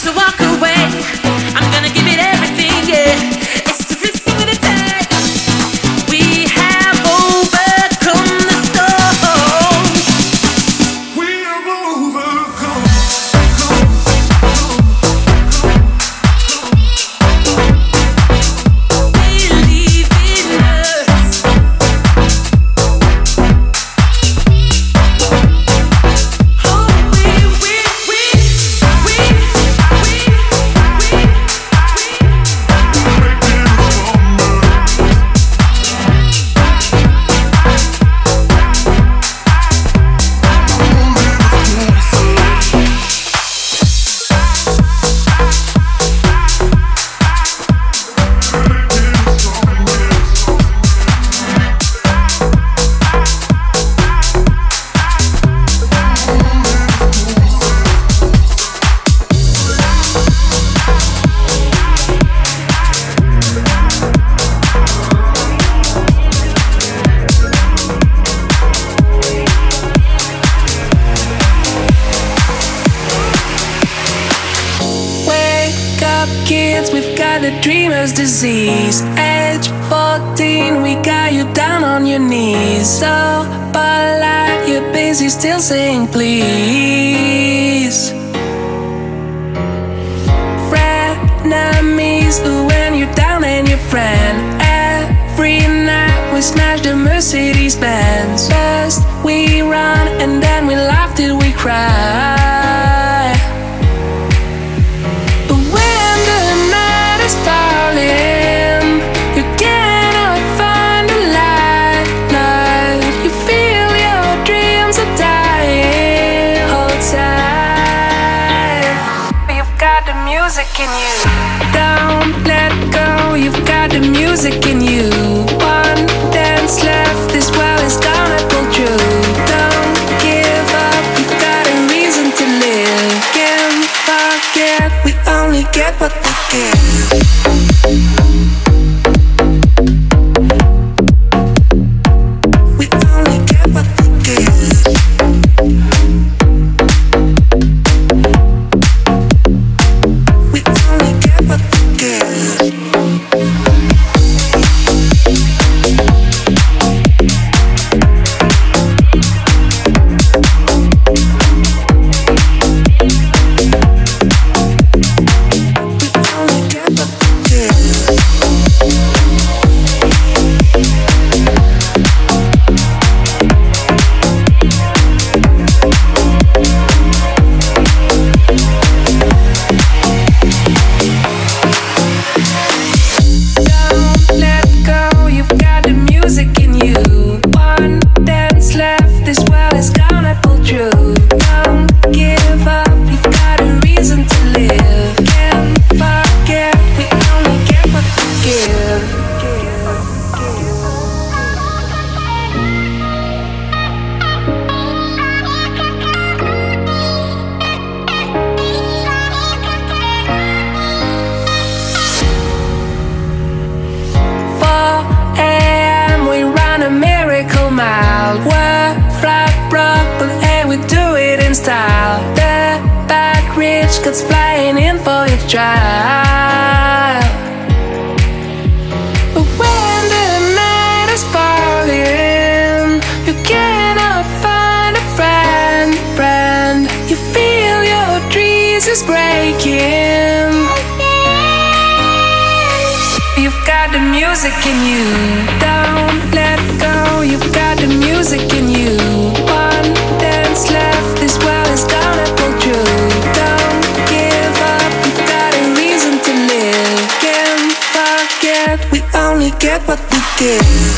dreamer's disease. Age 14, we got you down on your knees. So polite, you're busy still saying please. Frenemies, when you're down and your friend. Every night we smash the Mercedes Benz. First we run and then we laugh till we cry. Falling, you cannot find the light. You feel your dreams are dying. Hold tight. You've got the music in you. Don't let go. You've got the music in you. One dance left. This world is gonna pull through. Don't give up. You've got a reason to live. Can't forget. We only get what we give. Gets flying in for your trial. But when the night is falling, you cannot find a friend. You feel your dreams is breaking. You've got the music in you. Don't let go. You've got the music in you. One dance left. This world is gonna pull through. We only get what we give.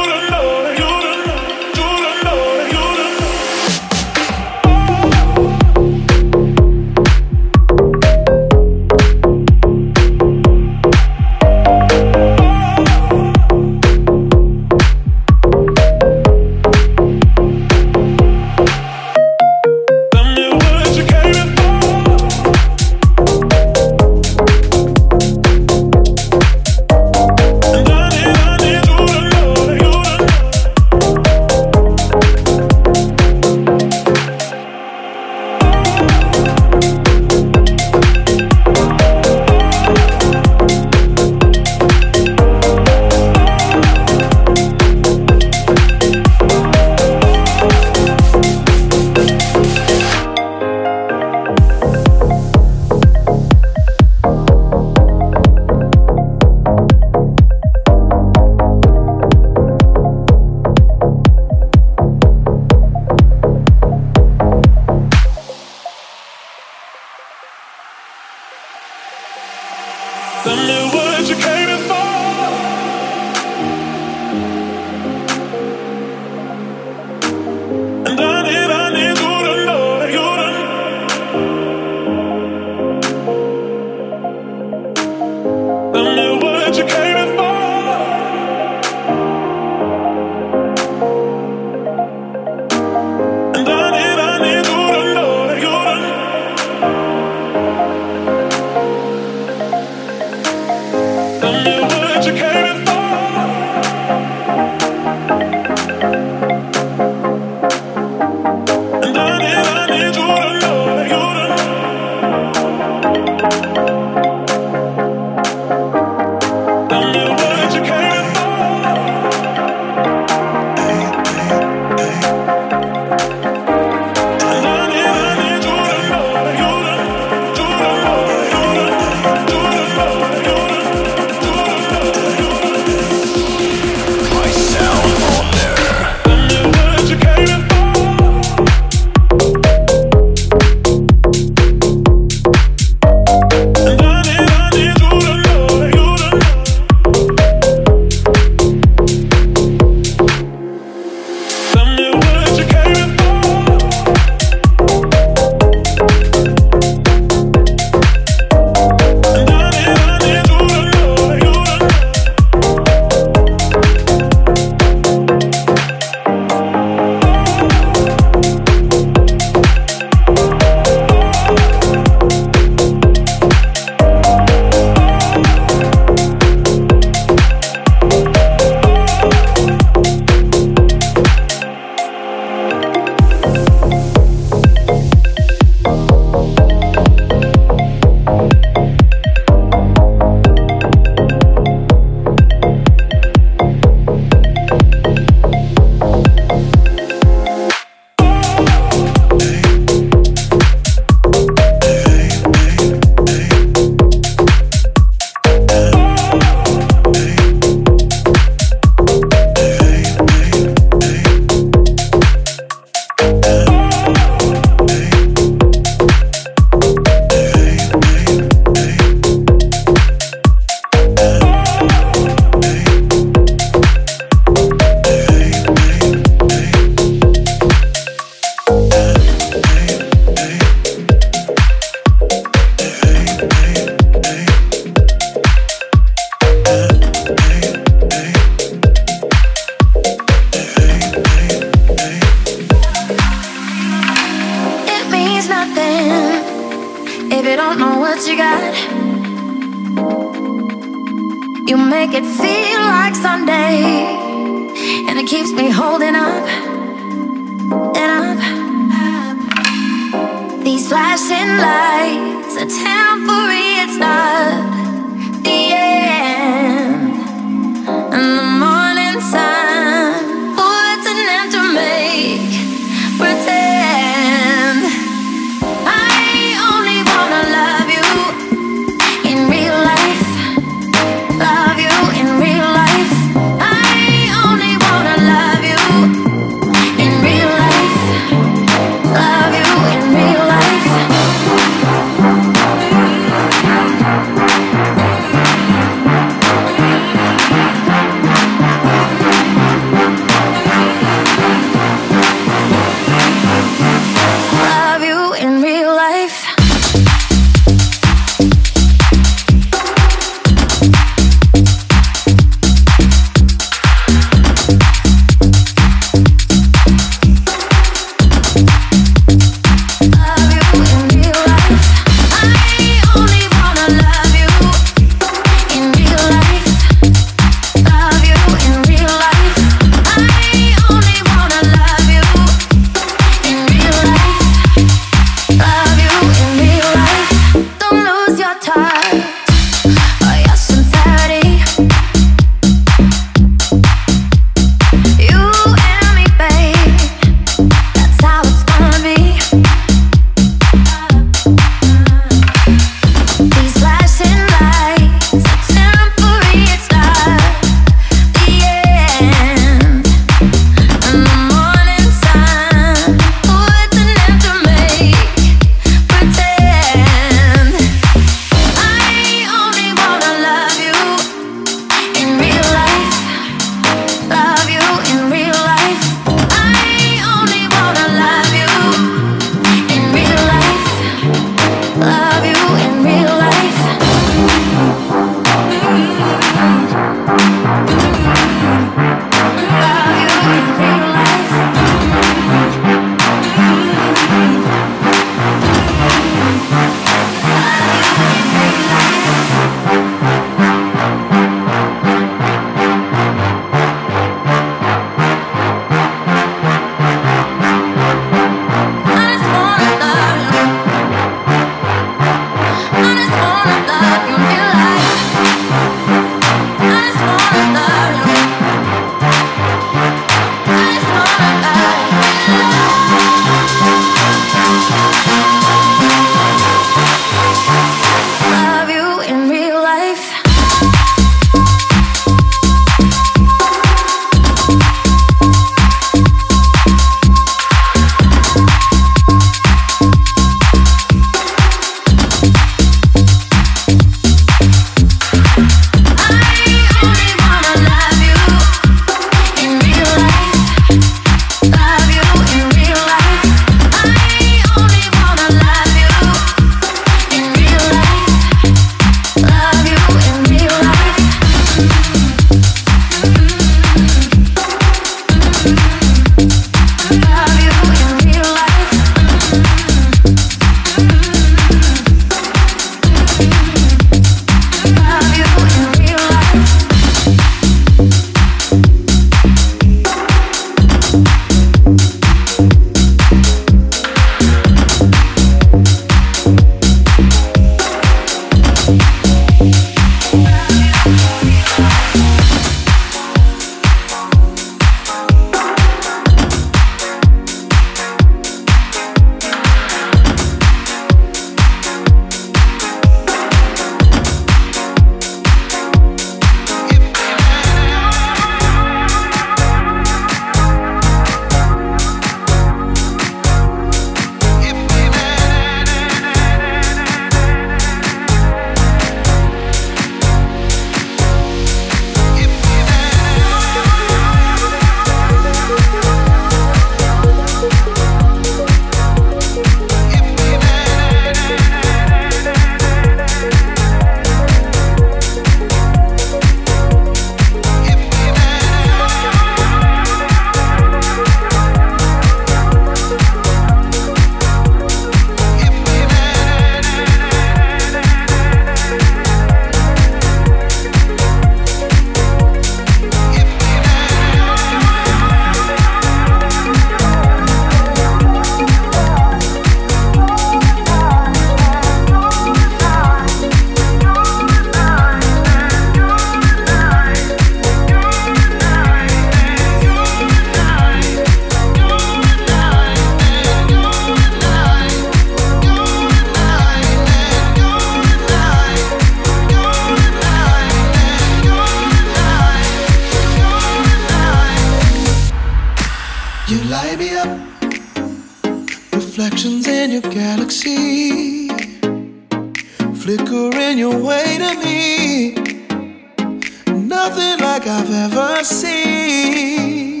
Reflections in your galaxy, flickering your way to me. Nothing like I've ever seen.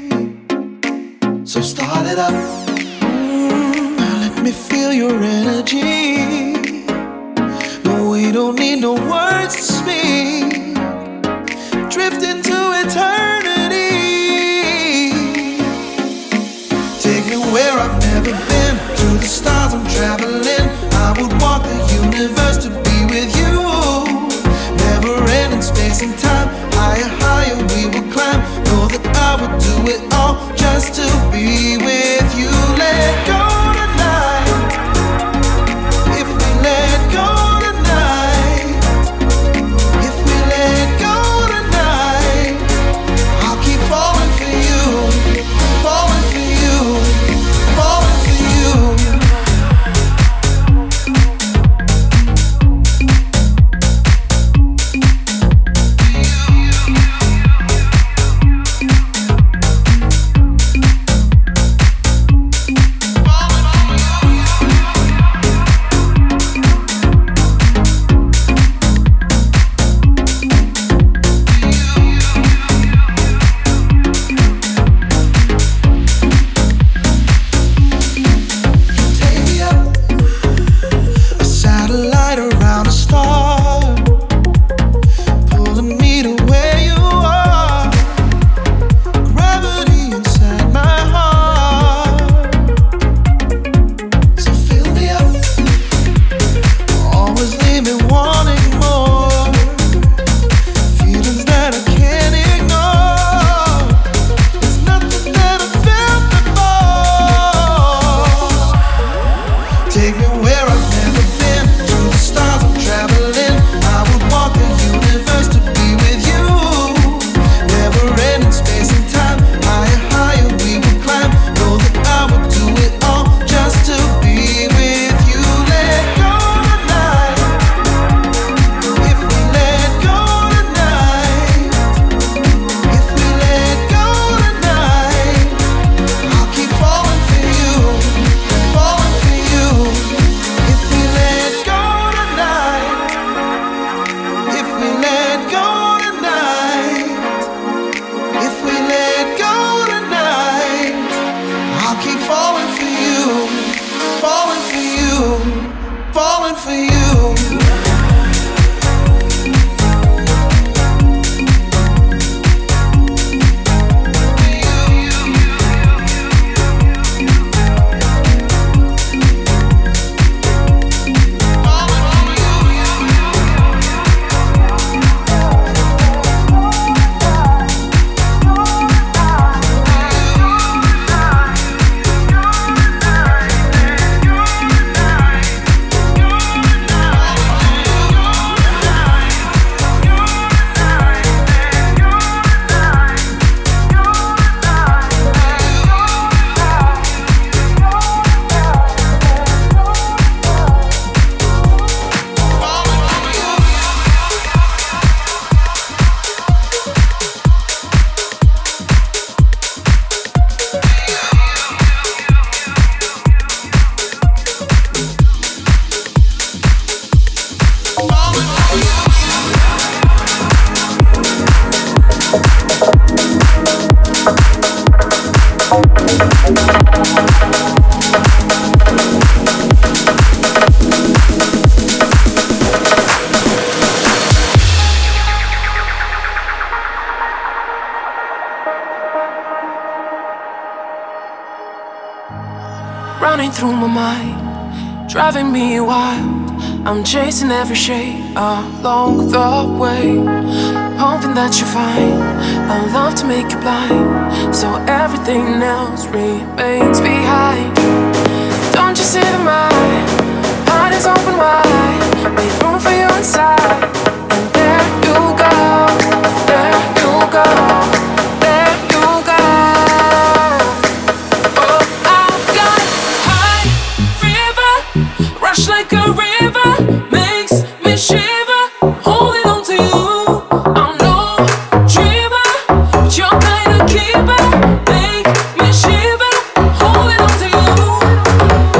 So start it up. Now let me feel your energy. No, we don't need no words to speak. Drift into eternity. Take me where I've never been. To the stars I'm traveling. I would walk the universe to be with you. Never ending space and time. Higher, higher we will climb. Know that I would do it all just to be with you. Let go tonight. If we let go tonight. If we let go tonight. I'll keep falling for you. Falling for you. Falling for you. Running through my mind, driving me wild. I'm chasing every shade along the way, hoping that you find a love to make you blind, so everything else remains behind. Don't you see that my heart is open wide, make room for you inside, and there you go, there you go, there you go. Oh, I've got high fever, rush like a river, makes me shiver, holding on to you. I'm no dreamer, but you're kind of keeper, make me shiver, holding on to you.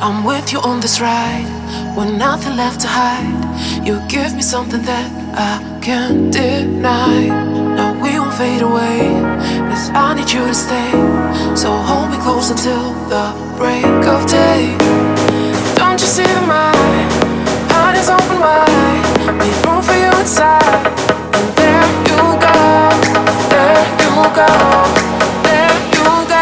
I'm with you on this ride, with nothing left to hide. You give me something that I can't deny. No, we won't fade away, 'cause I need you to stay. So hold me close until the break of day. Don't you see that my heart is open wide? Make room for you inside. And there you go, there you go, there you go.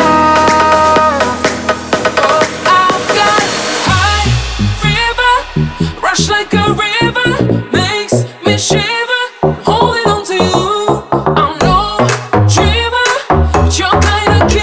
Rush like a river, makes me shiver. Holding on to you, I'm no dreamer, but you're kinda cute.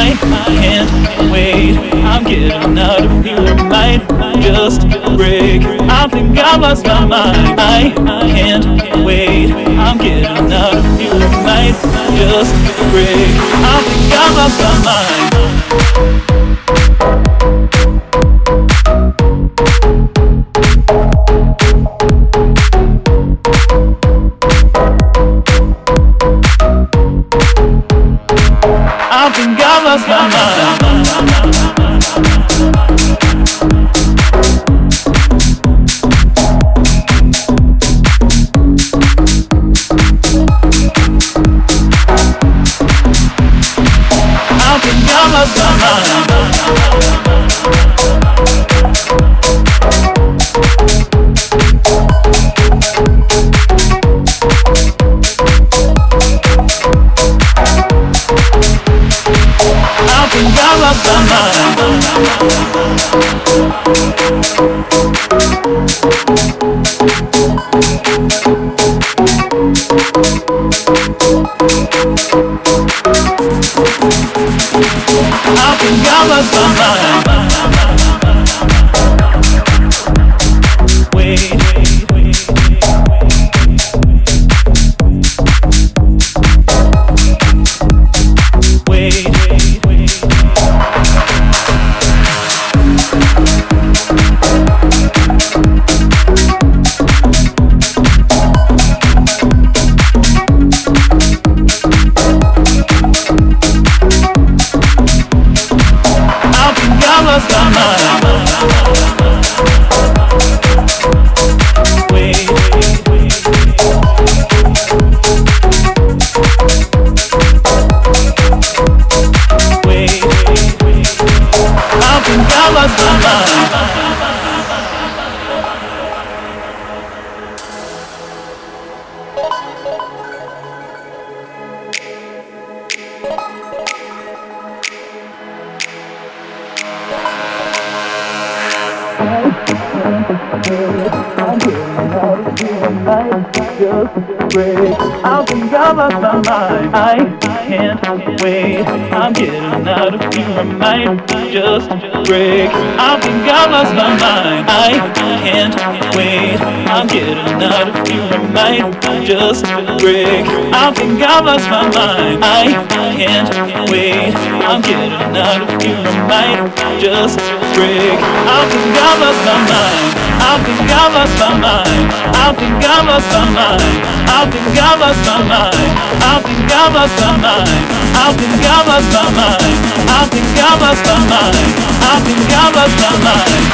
I can't wait. I'm getting out of here. I might just break. I think I lost my mind. I can't wait. I'm getting out of here. I might just break. I think I lost my mind. I think I lost my mind. I think I lost my mind. I think I lost my I think I lost my mind. Wait, wait, wait. Lost my mind. Wait, wait, wait. Wait, wait, wait. I think I lost my mind. Just break. I think I lost my mind. I can't wait. I'm getting out of here. I might just break. I think I lost my mind. I can't wait. I'm getting out of here. I might just break. I think I lost my mind. I can't wait. I'm getting out of here. I might just break. I think I lost my mind. I think I lost my mind. I think I lost my mind. I think I lost my mind. I think I lost my mind. I think I lost my mind. I think I lost my mind. I think I lost my mind.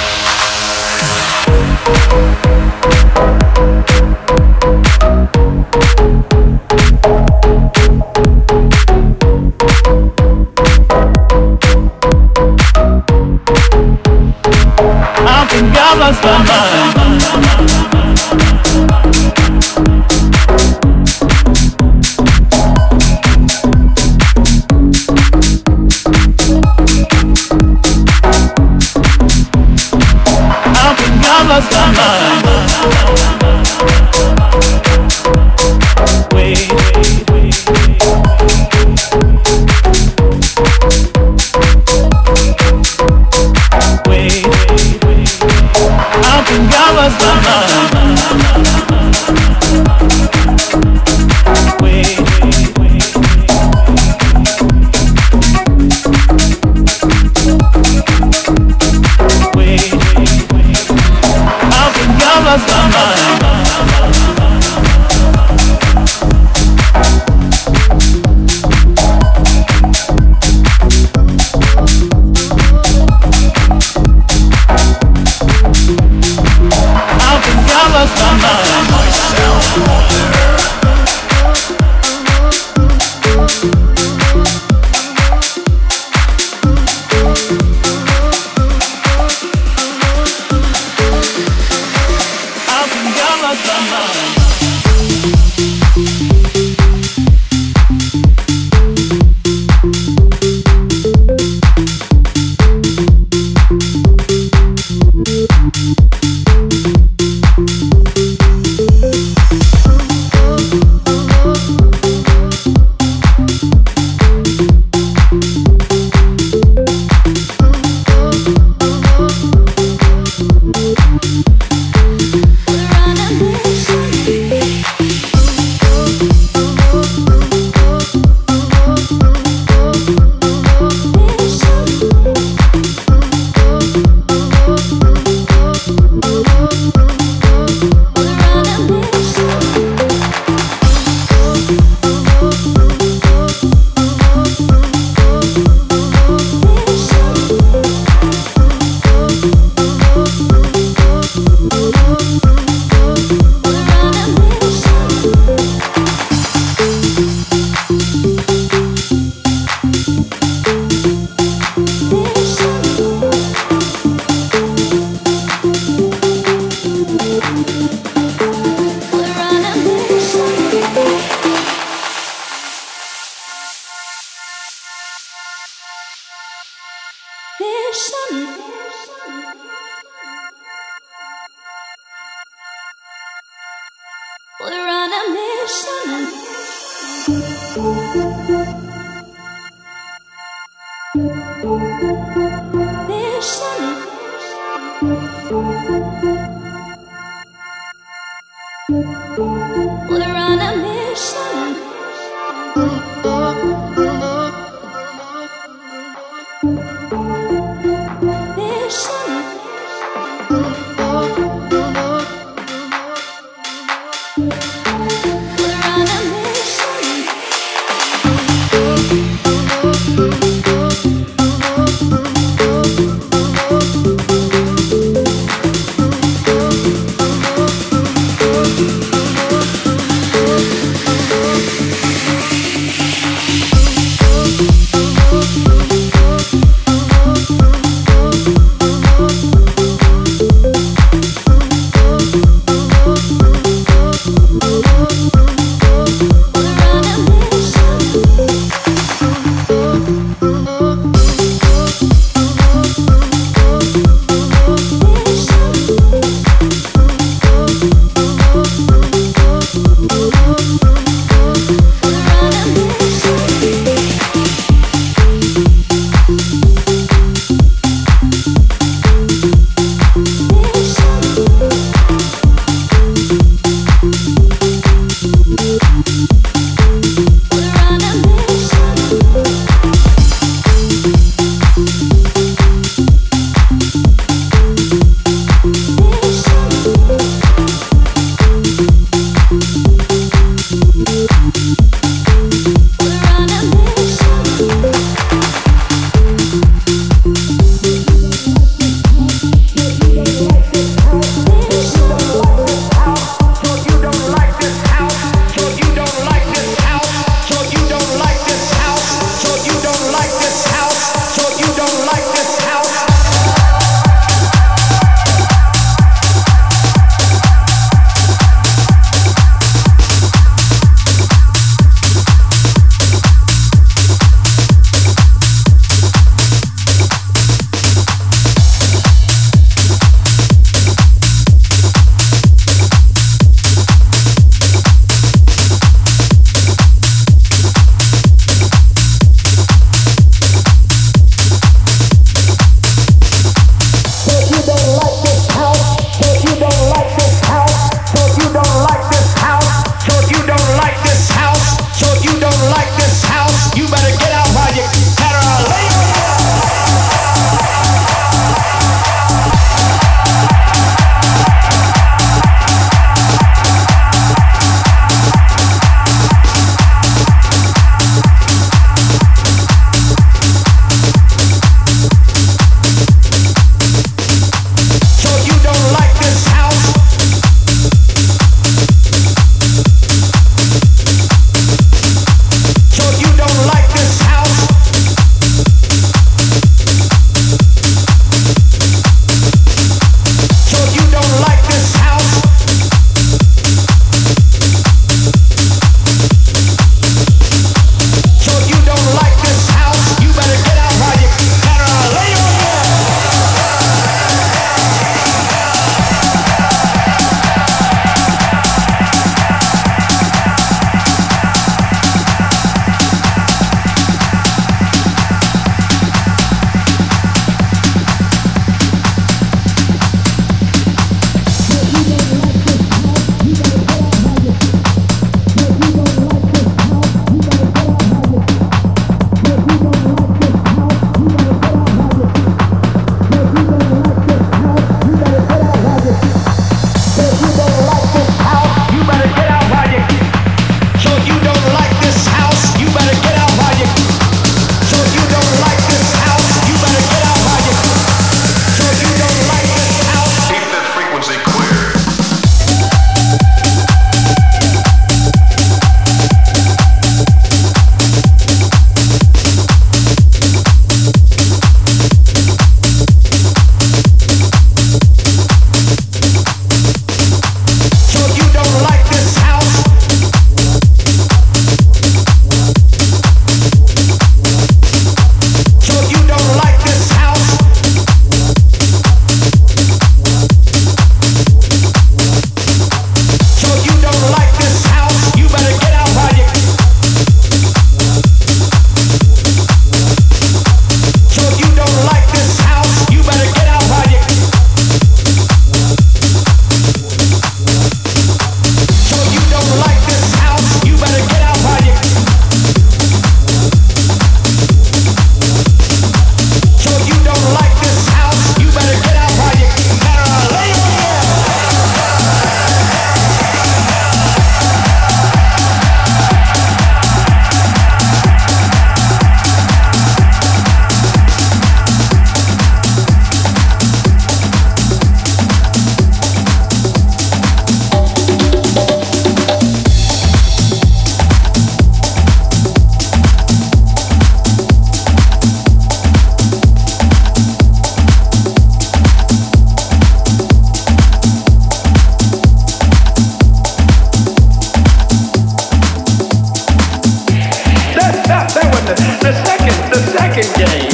I think I lost my mind. I think I lost my mind. Wait, wait, wait. Wait, wait, wait. I think I We're on a mission. We're on a mission.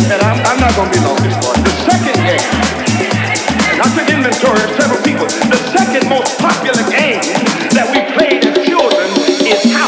and I'm not going to be long this morning. The second game, and I took inventory of several people, the second most popular game that we played as children is house.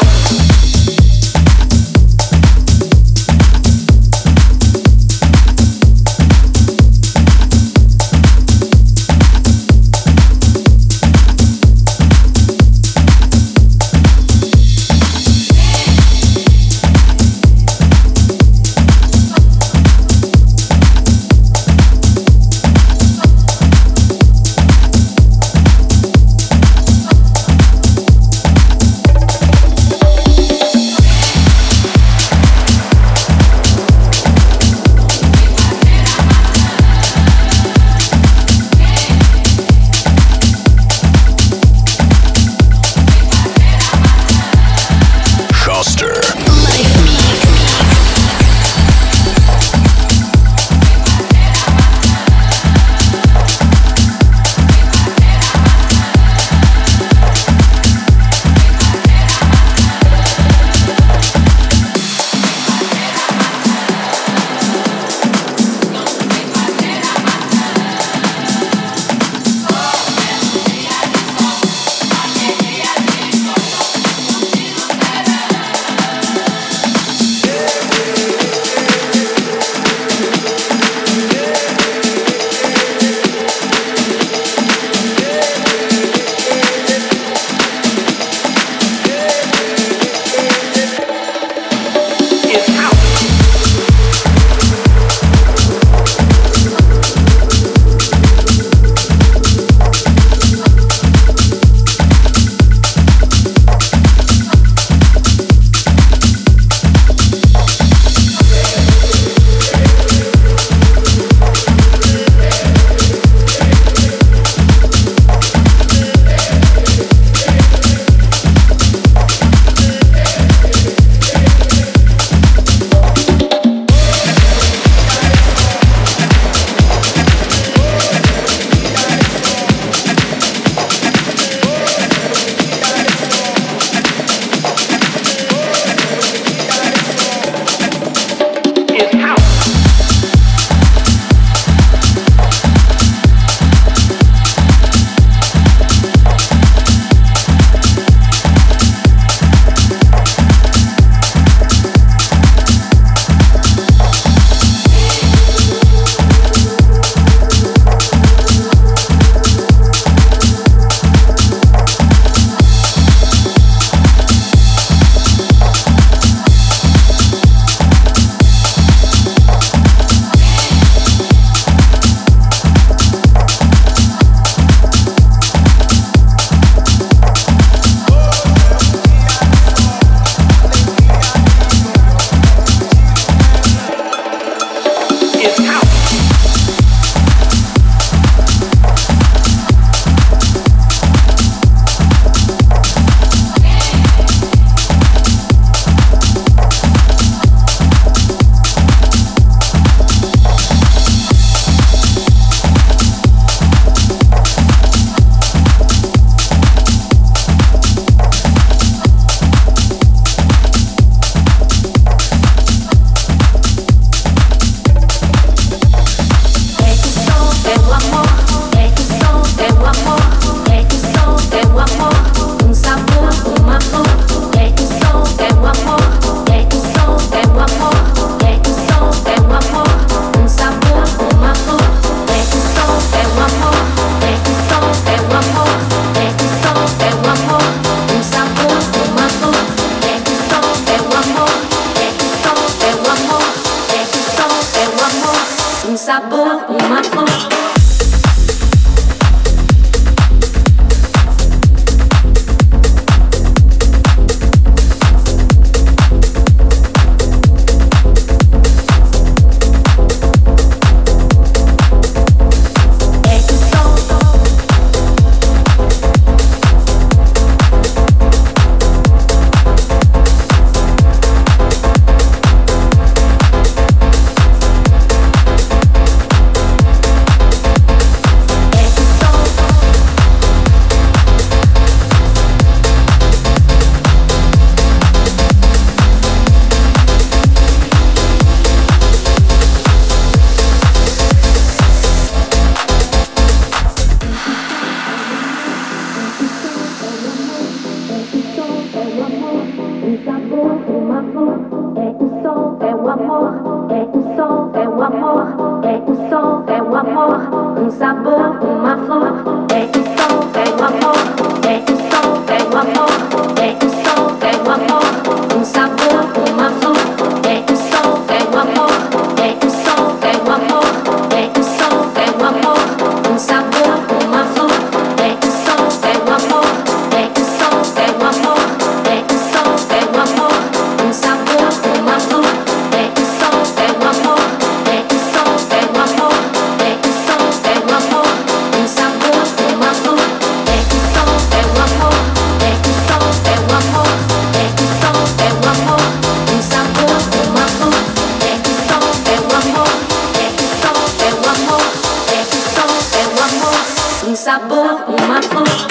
sabor, uma flor. um sabor, uma flor. Pega o sol, pega o amor. Pega o sol, pega o amor. Pega o sol, pega o amor. Um sabor, uma flor. Pega o sol, pega o amor. Pega o sol, pega o amor. Pega o sol, pega o amor. Um sabor, uma flor. Pega o sol, pega o amor. Pega o sol, pega o amor. Pega o sol, pega o amor. Um sabor, uma flor. Pega o sol, pega o amor. Pega o sol, pega o amor. Pega o sol, pega o amor. Um sabor, uma flor. Pega o sol, pega o amor. Pega o sol, pega o amor. Pega o sol, pega o amor. Um sabor, uma flor. Pega o sol, pega o amor. Pega o sol, pega o amor. Pega o sol, pega o amor. Um sabor, uma flor.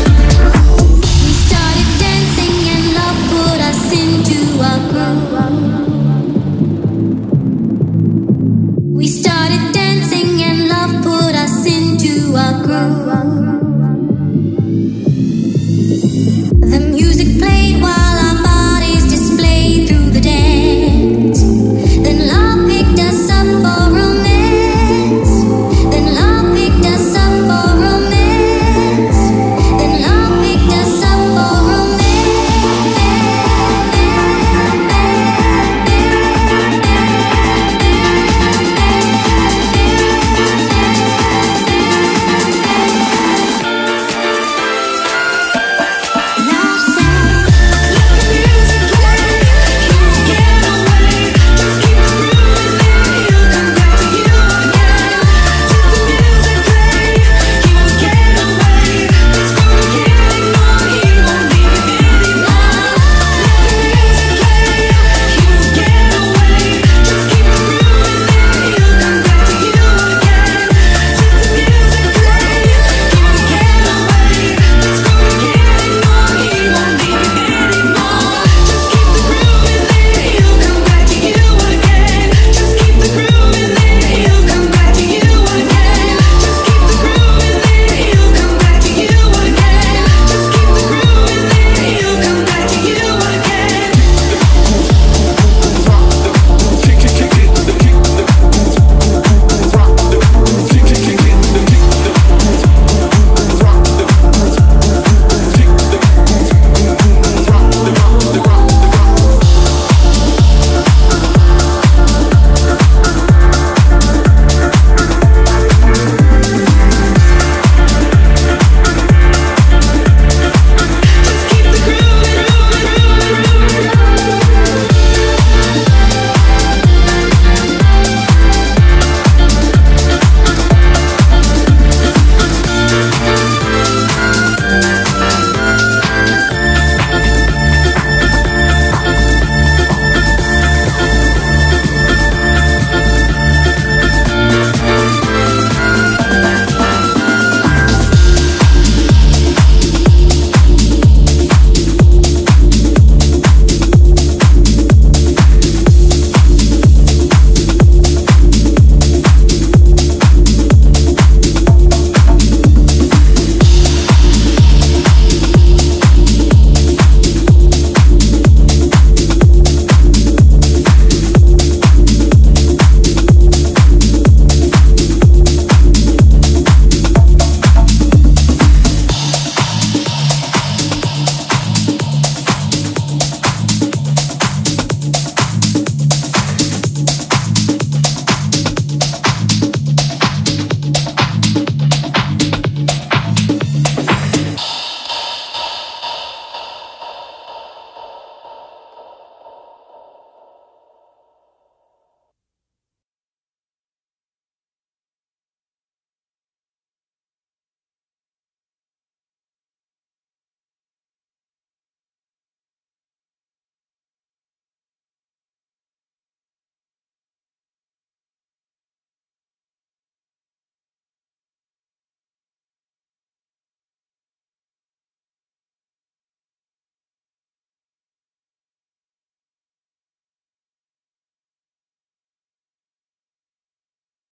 Into a groove.